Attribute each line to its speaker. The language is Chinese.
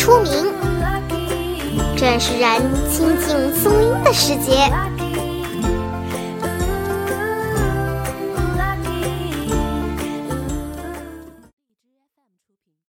Speaker 1: 出名。这是人亲近松阴的时节。